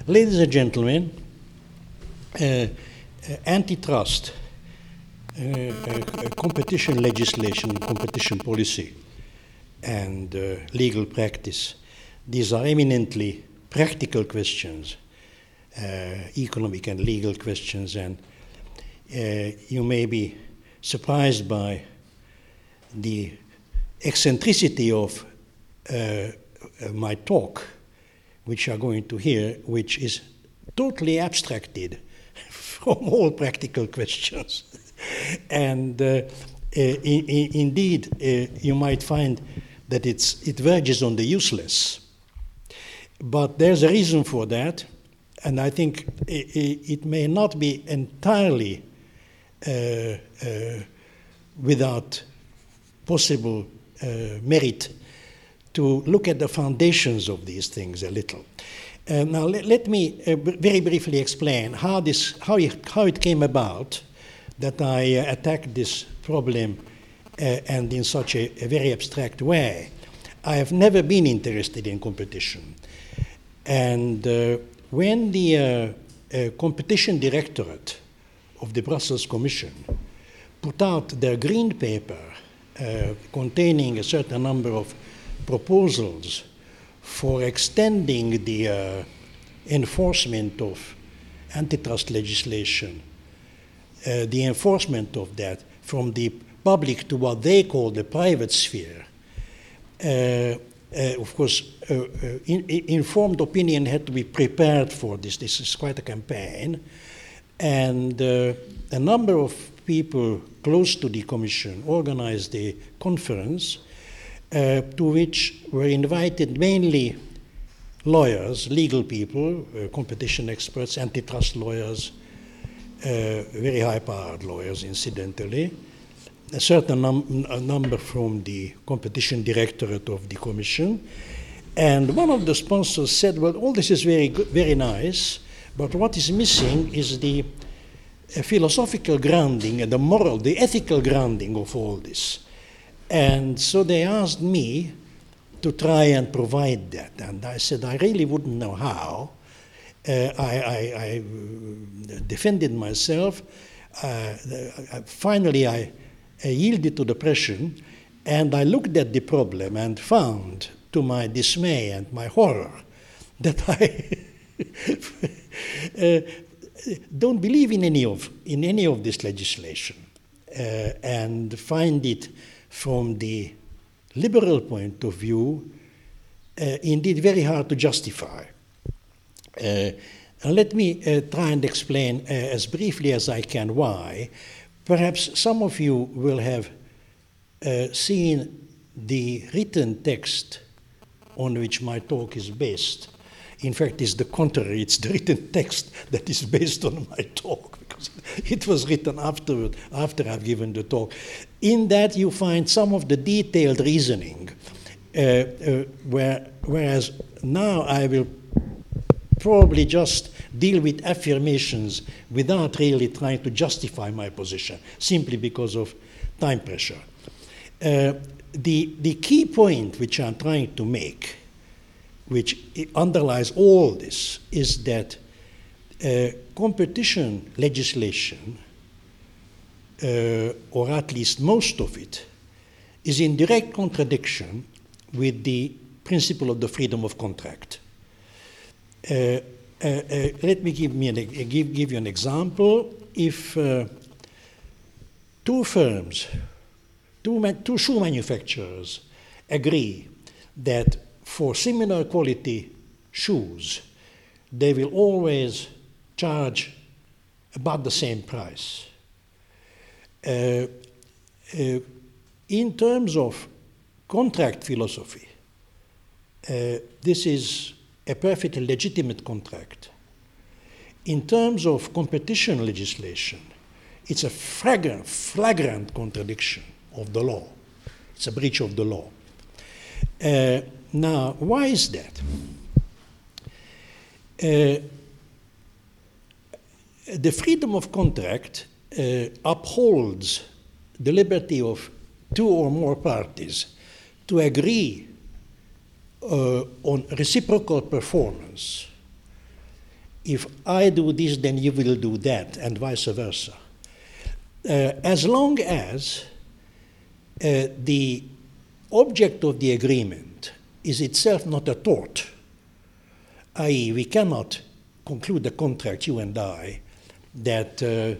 Ladies and gentlemen, antitrust, competition legislation, competition policy, and legal practice, these are eminently practical questions, economic and legal questions, and you may be surprised by the eccentricity of my talk, which you are going to hear, which is totally abstracted from all practical questions. And indeed, you might find that it verges on the useless. But there's a reason for that, and I think it may not be entirely without possible merit to look at the foundations of these things a little. Now, let me very briefly explain how it came about that I attacked this problem and in such a very abstract way. I have never been interested in competition. And when the competition directorate of the Brussels Commission put out their green paper containing a certain number of proposals for extending the enforcement of antitrust legislation, the enforcement of that from the public to what they call the private sphere. Of course, informed opinion had to be prepared for this. This is quite a campaign. And a number of people close to the Commission organized a conference to which were invited mainly lawyers, legal people, competition experts, antitrust lawyers, very high-powered lawyers, incidentally, a certain number from the competition directorate of the Commission. And one of the sponsors said, well, all this is very good, very nice, but what is missing is the philosophical grounding and the moral, the ethical grounding of all this. And so they asked me to try and provide that. And I said, I really wouldn't know how. I defended myself. Finally, I yielded to the pressure, and I looked at the problem and found, to my dismay and my horror, that I don't believe in any of this legislation, and find it from the liberal point of view indeed very hard to justify. And let me try and explain as briefly as I can why. Perhaps some of you will have seen the written text on which my talk is based. In fact, it's the contrary. It's the written text that is based on my talk, because it was written after I've given the talk. In that, you find some of the detailed reasoning, whereas now I will probably just deal with affirmations without really trying to justify my position, simply because of time pressure. The key point which I'm trying to make, which underlies all this, is that competition legislation, or at least most of it, is in direct contradiction with the principle of the freedom of contract. Let me give you an example. If two firms, two shoe manufacturers agree that for similar quality shoes, they will always charge about the same price. In terms of contract philosophy, this is a perfectly legitimate contract. In terms of competition legislation, it's a flagrant contradiction of the law. It's a breach of the law. Now, why is that? The freedom of contract upholds the liberty of two or more parties to agree on reciprocal performance if I do this, then you will do that, and vice versa. As long as the object of the agreement is itself not a tort, i.e., we cannot conclude a contract, you and I, that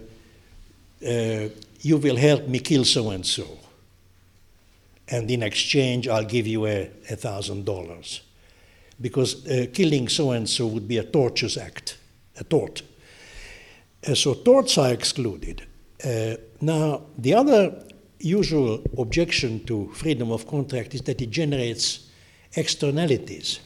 you will help me kill so-and-so, and in exchange I'll give you $1,000. Because killing so-and-so would be a tortious act, a tort. So torts are excluded. Now, the other usual objection to freedom of contract is that it generates externalities.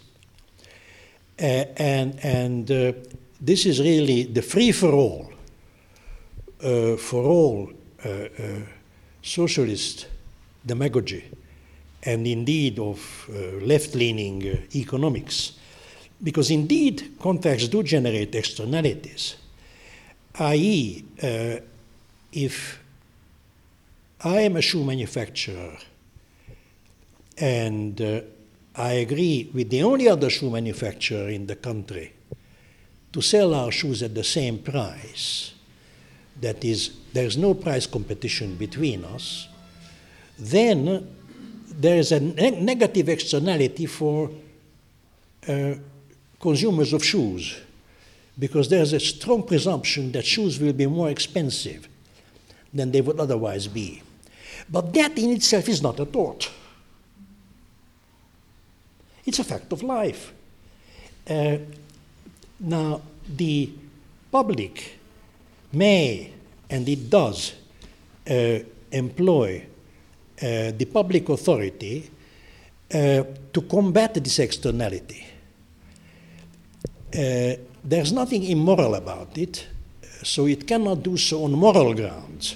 And this is really the free-for-all for all socialist demagogy, and indeed of left-leaning economics, because indeed contracts do generate externalities, i.e., if I am a shoe manufacturer and I agree with the only other shoe manufacturer in the country to sell our shoes at the same price, that is, there's no price competition between us, then there is a negative externality for consumers of shoes, because there's a strong presumption that shoes will be more expensive than they would otherwise be. But that in itself is not a tort. It's a fact of life. Now, the public may, and it does, employ the public authority to combat this externality. There's nothing immoral about it, so it cannot do so on moral grounds.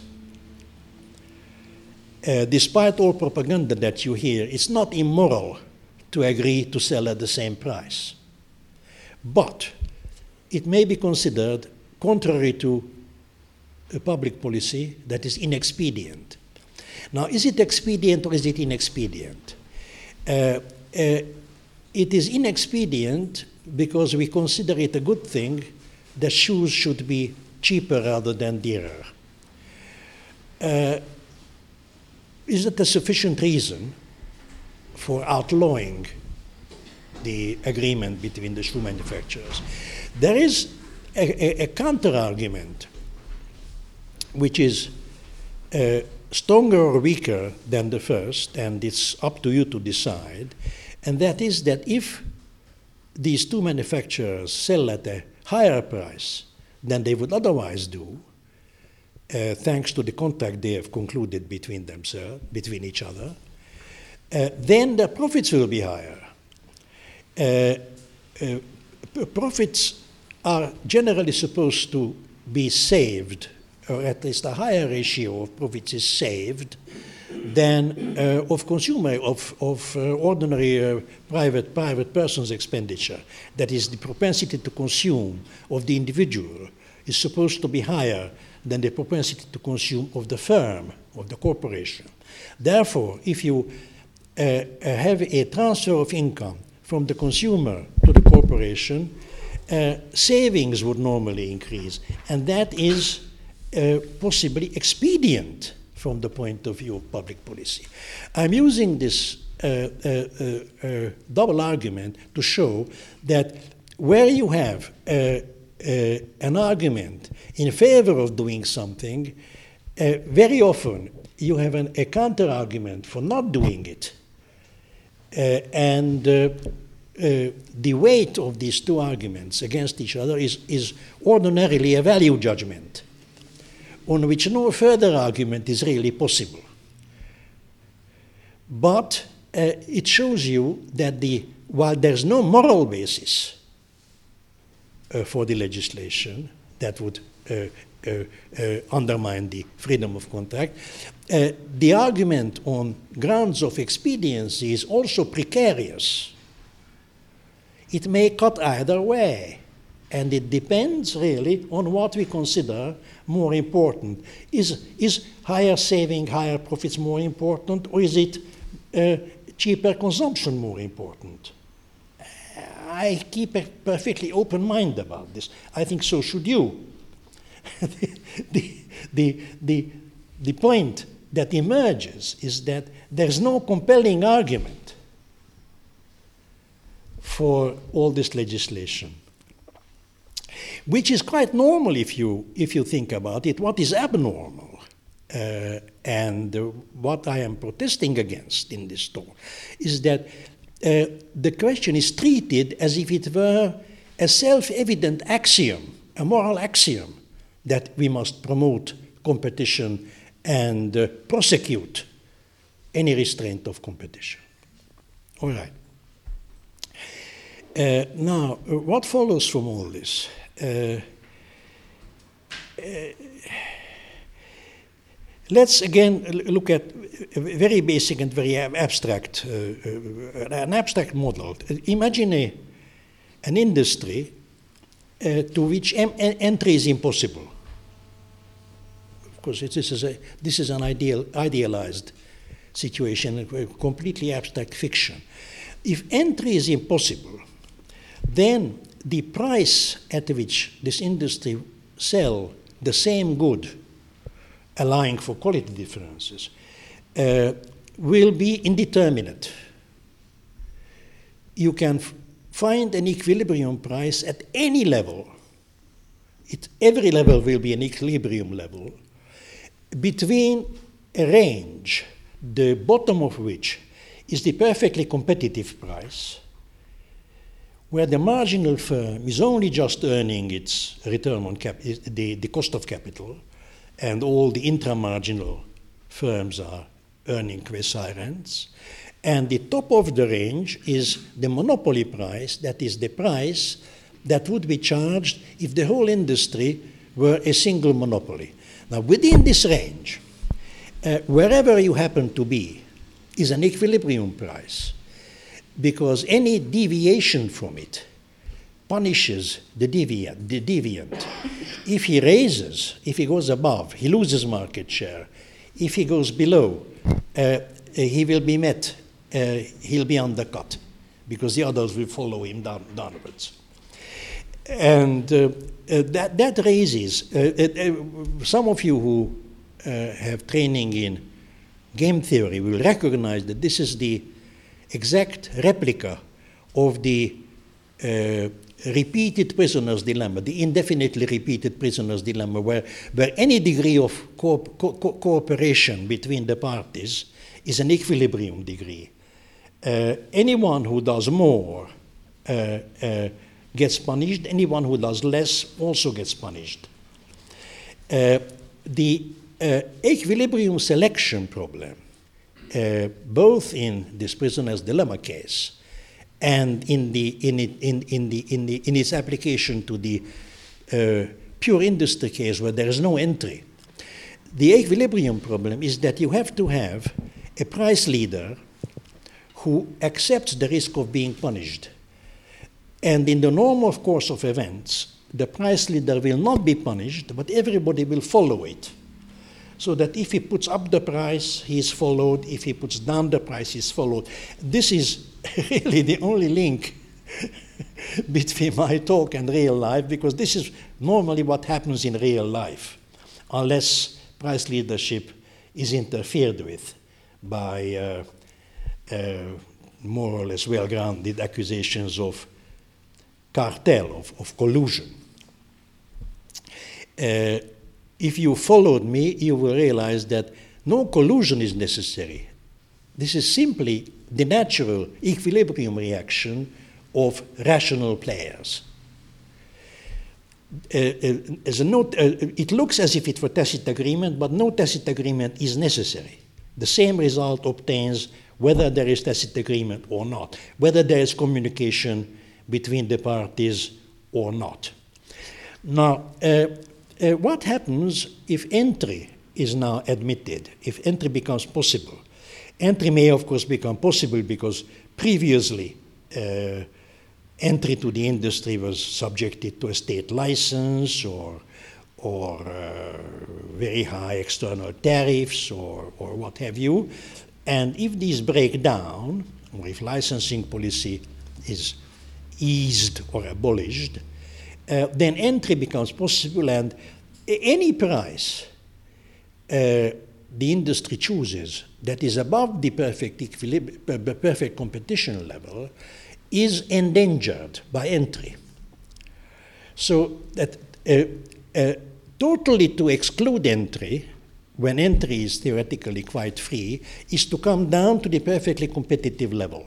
Despite all propaganda that you hear, it's not immoral to agree to sell at the same price. But it may be considered contrary to a public policy that is inexpedient. Now, is it expedient or is it inexpedient? It is inexpedient because we consider it a good thing that shoes should be cheaper rather than dearer. Is it a sufficient reason for outlawing the agreement between the shoe manufacturers? There is a counter-argument which is stronger or weaker than the first, and it's up to you to decide, and that is that if these two manufacturers sell at a higher price than they would otherwise do, thanks to the contract they have concluded between themselves, between each other, then their profits will be higher. Profits are generally supposed to be saved, or at least a higher ratio of profits is saved than of consumer, of ordinary private person's expenditure. That is, the propensity to consume of the individual is supposed to be higher than the propensity to consume of the firm, of the corporation. Therefore, if you have a transfer of income from the consumer to the corporation, savings would normally increase, and that is possibly expedient from the point of view of public policy. I'm using this double argument to show that where you have an argument in favor of doing something, very often you have a counter-argument for not doing it. And the weight of these two arguments against each other is ordinarily a value judgment on which no further argument is really possible. But it shows you that while there's no moral basis for the legislation that would undermine the freedom of contract, the argument on grounds of expediency is also precarious. It may cut either way, and it depends really on what we consider more important. Is higher saving, higher profits more important, or is it cheaper consumption more important? I keep a perfectly open mind about this. I think so should you. The point that emerges is that there's no compelling argument for all this legislation, which is quite normal if you think about it. What is abnormal and what I am protesting against in this talk is that the question is treated as if it were a self-evident axiom, a moral axiom, that we must promote competition and prosecute any restraint of competition. All right. Now, what follows from all this? Let's again look at a very basic and very abstract, an abstract model. Imagine an industry to which entry is impossible. Of course, this is an idealized situation, a completely abstract fiction. If entry is impossible, then the price at which this industry sell the same good, allowing for quality differences, will be indeterminate. You can find an equilibrium price at any level. Every level will be an equilibrium level between a range, the bottom of which is the perfectly competitive price, where the marginal firm is only just earning its return on the cost of capital, and all the intramarginal firms are earning quasi-rents. And the top of the range is the monopoly price, that is the price that would be charged if the whole industry were a single monopoly. Now, within this range, wherever you happen to be, is an equilibrium price, because any deviation from it punishes the deviant. If he raises, if he goes above, he loses market share. If he goes below, he will be met, he'll be undercut, because the others will follow him downwards. And that raises, some of you who have training in game theory will recognize that this is the exact replica of the repeated prisoner's dilemma, the indefinitely repeated prisoner's dilemma, where any degree of cooperation between the parties is an equilibrium degree. Anyone who does more gets punished, anyone who does less also gets punished. The equilibrium selection problem, both in this prisoner's dilemma case and in its application to the pure industry case where there is no entry, the equilibrium problem is that you have to have a price leader who accepts the risk of being punished. And in the normal course of events, the price leader will not be punished, but everybody will follow it. So that if he puts up the price, he is followed. If he puts down the price, he is followed. This is really the only link between my talk and real life, because this is normally what happens in real life, unless price leadership is interfered with by more or less well-grounded accusations of cartel, of collusion. If you followed me, you will realize that no collusion is necessary. This is simply the natural equilibrium reaction of rational players. As a note, it looks as if it were tacit agreement, but no tacit agreement is necessary. The same result obtains whether there is tacit agreement or not, whether there is communication between the parties or not. Now, what happens if entry is now admitted, if entry becomes possible? Entry may, of course, become possible because previously entry to the industry was subjected to a state license or very high external tariffs or what have you. And if these break down, or if licensing policy is eased or abolished, then entry becomes possible, and any price the industry chooses that is above the perfect competition level is endangered by entry. So that totally to exclude entry, when entry is theoretically quite free, is to come down to the perfectly competitive level.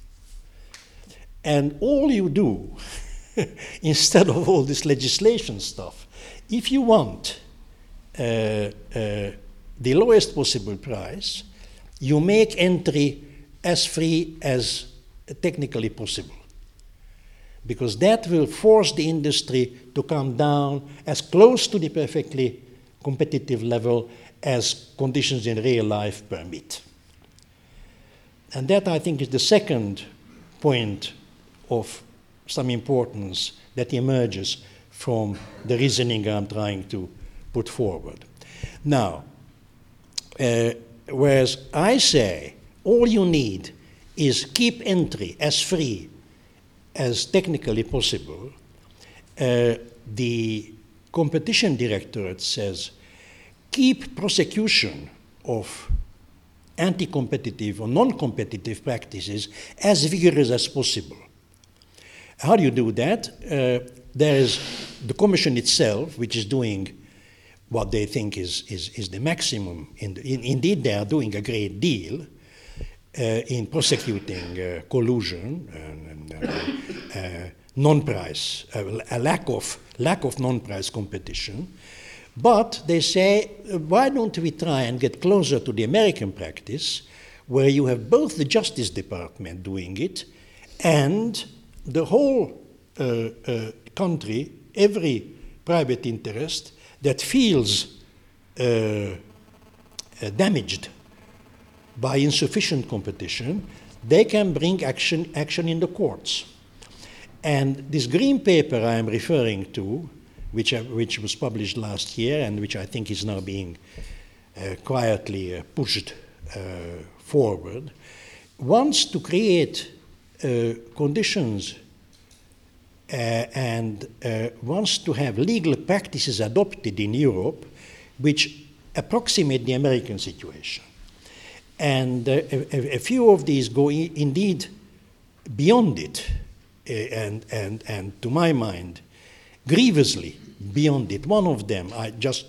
And all you do, instead of all this legislation stuff, if you want the lowest possible price, you make entry as free as technically possible. Because that will force the industry to come down as close to the perfectly competitive level as conditions in real life permit. And that, I think, is the second point of some importance that emerges from the reasoning I'm trying to put forward. Now, whereas I say all you need is keep entry as free as technically possible, the competition directorate says keep prosecution of anti-competitive or non-competitive practices as vigorous as possible. How do you do that? There is the Commission itself, which is doing what they think is the maximum. Indeed, they are doing a great deal in prosecuting collusion and non-price, a lack of non-price competition. But they say, why don't we try and get closer to the American practice, where you have both the Justice Department doing it and the whole country, every private interest that feels damaged by insufficient competition, they can bring action in the courts. And this green paper I am referring to, which was published last year and which I think is now being quietly pushed forward, wants to create conditions and wants to have legal practices adopted in Europe which approximate the American situation. And a few of these go indeed beyond it, and to my mind, grievously beyond it. One of them, I just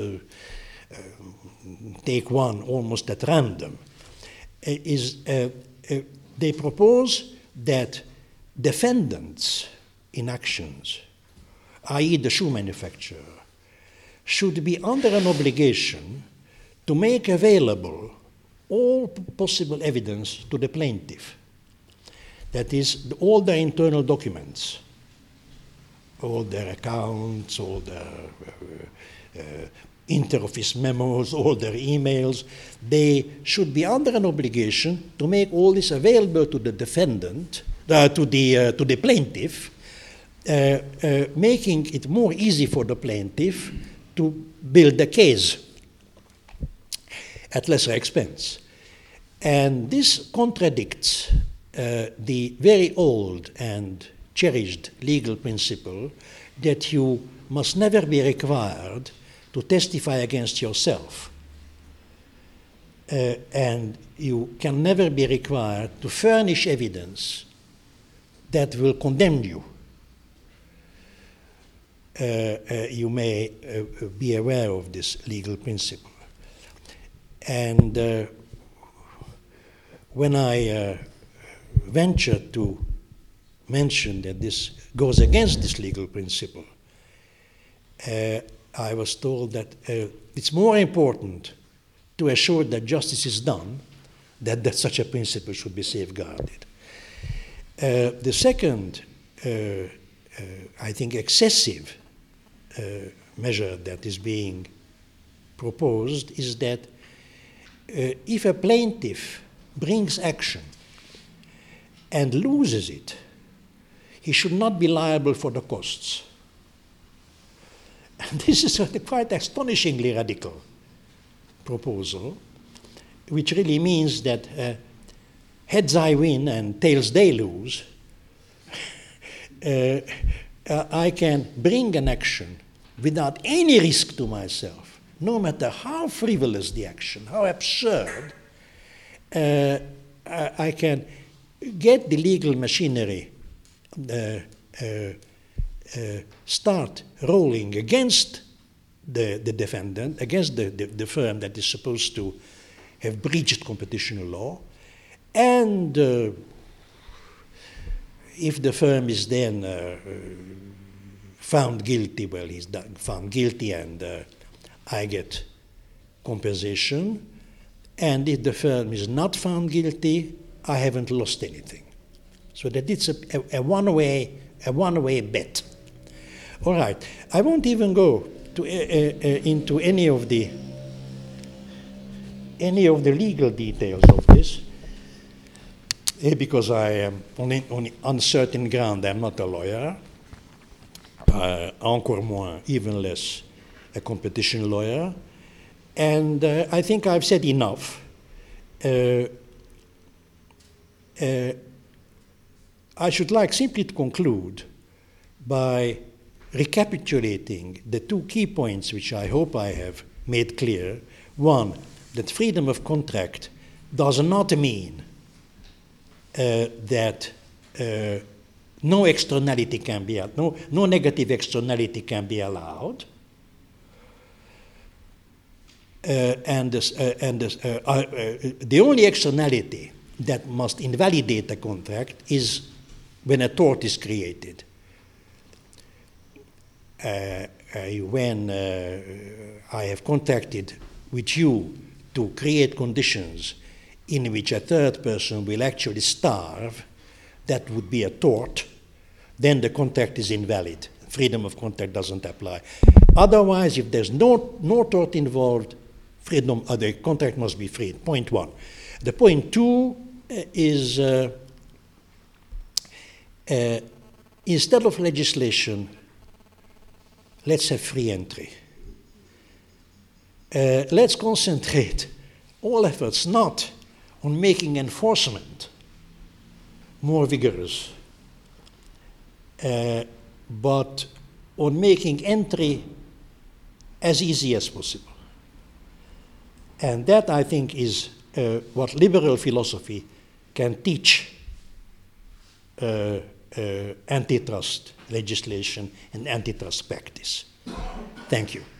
take one almost at random, is they propose that defendants in actions, i.e. the shoe manufacturer, should be under an obligation to make available all possible evidence to the plaintiff. That is, all their internal documents, all their accounts, all their inter-office memos, all their emails. They should be under an obligation to make all this available to the defendant, to the plaintiff, making it more easy for the plaintiff to build a case at lesser expense. And this contradicts the very old and cherished legal principle that you must never be required to testify against yourself. And you can never be required to furnish evidence that will condemn you. You may be aware of this legal principle. And when I ventured to mention that this goes against this legal principle, I was told that it's more important to assure that justice is done than that such a principle should be safeguarded. The second, I think, excessive measure that is being proposed is that if a plaintiff brings action and loses it, he should not be liable for the costs. And this is a quite astonishingly radical proposal, which really means that heads I win and tails they lose I can bring an action without any risk to myself, no matter how frivolous the action, how absurd. I can get the legal machinery start rolling against the defendant, against the firm that is supposed to have breached competition law, and if the firm is then found guilty, well, he's found guilty and I get compensation. And if the firm is not found guilty, I haven't lost anything. So that it's a one-way bet. All right, I won't even go into any of the legal details of this, because I am on uncertain ground. I'm not a lawyer, encore moins, even less, a competition lawyer. And I think I've said enough. I should like simply to conclude by recapitulating the two key points which I hope I have made clear. One, that freedom of contract does not mean that no externality can be, no negative externality can be allowed. The only externality that must invalidate a contract is when a tort is created. When I have contracted with you to create conditions in which a third person will actually starve, that would be a tort, then the contract is invalid. Freedom of contract doesn't apply. Otherwise, if there's no tort involved, the contract must be free. Point one. The point two is instead of legislation, let's have free entry. Let's concentrate all efforts not on making enforcement more vigorous, but on making entry as easy as possible. And that, I think, is what liberal philosophy can teach antitrust legislation and antitrust practice. Thank you.